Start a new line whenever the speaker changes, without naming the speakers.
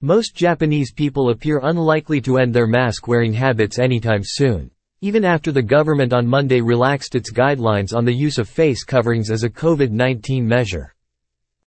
Most Japanese people appear unlikely to end their mask-wearing habits anytime soon, even after the government on Monday relaxed its guidelines on the use of face coverings as a COVID-19 measure.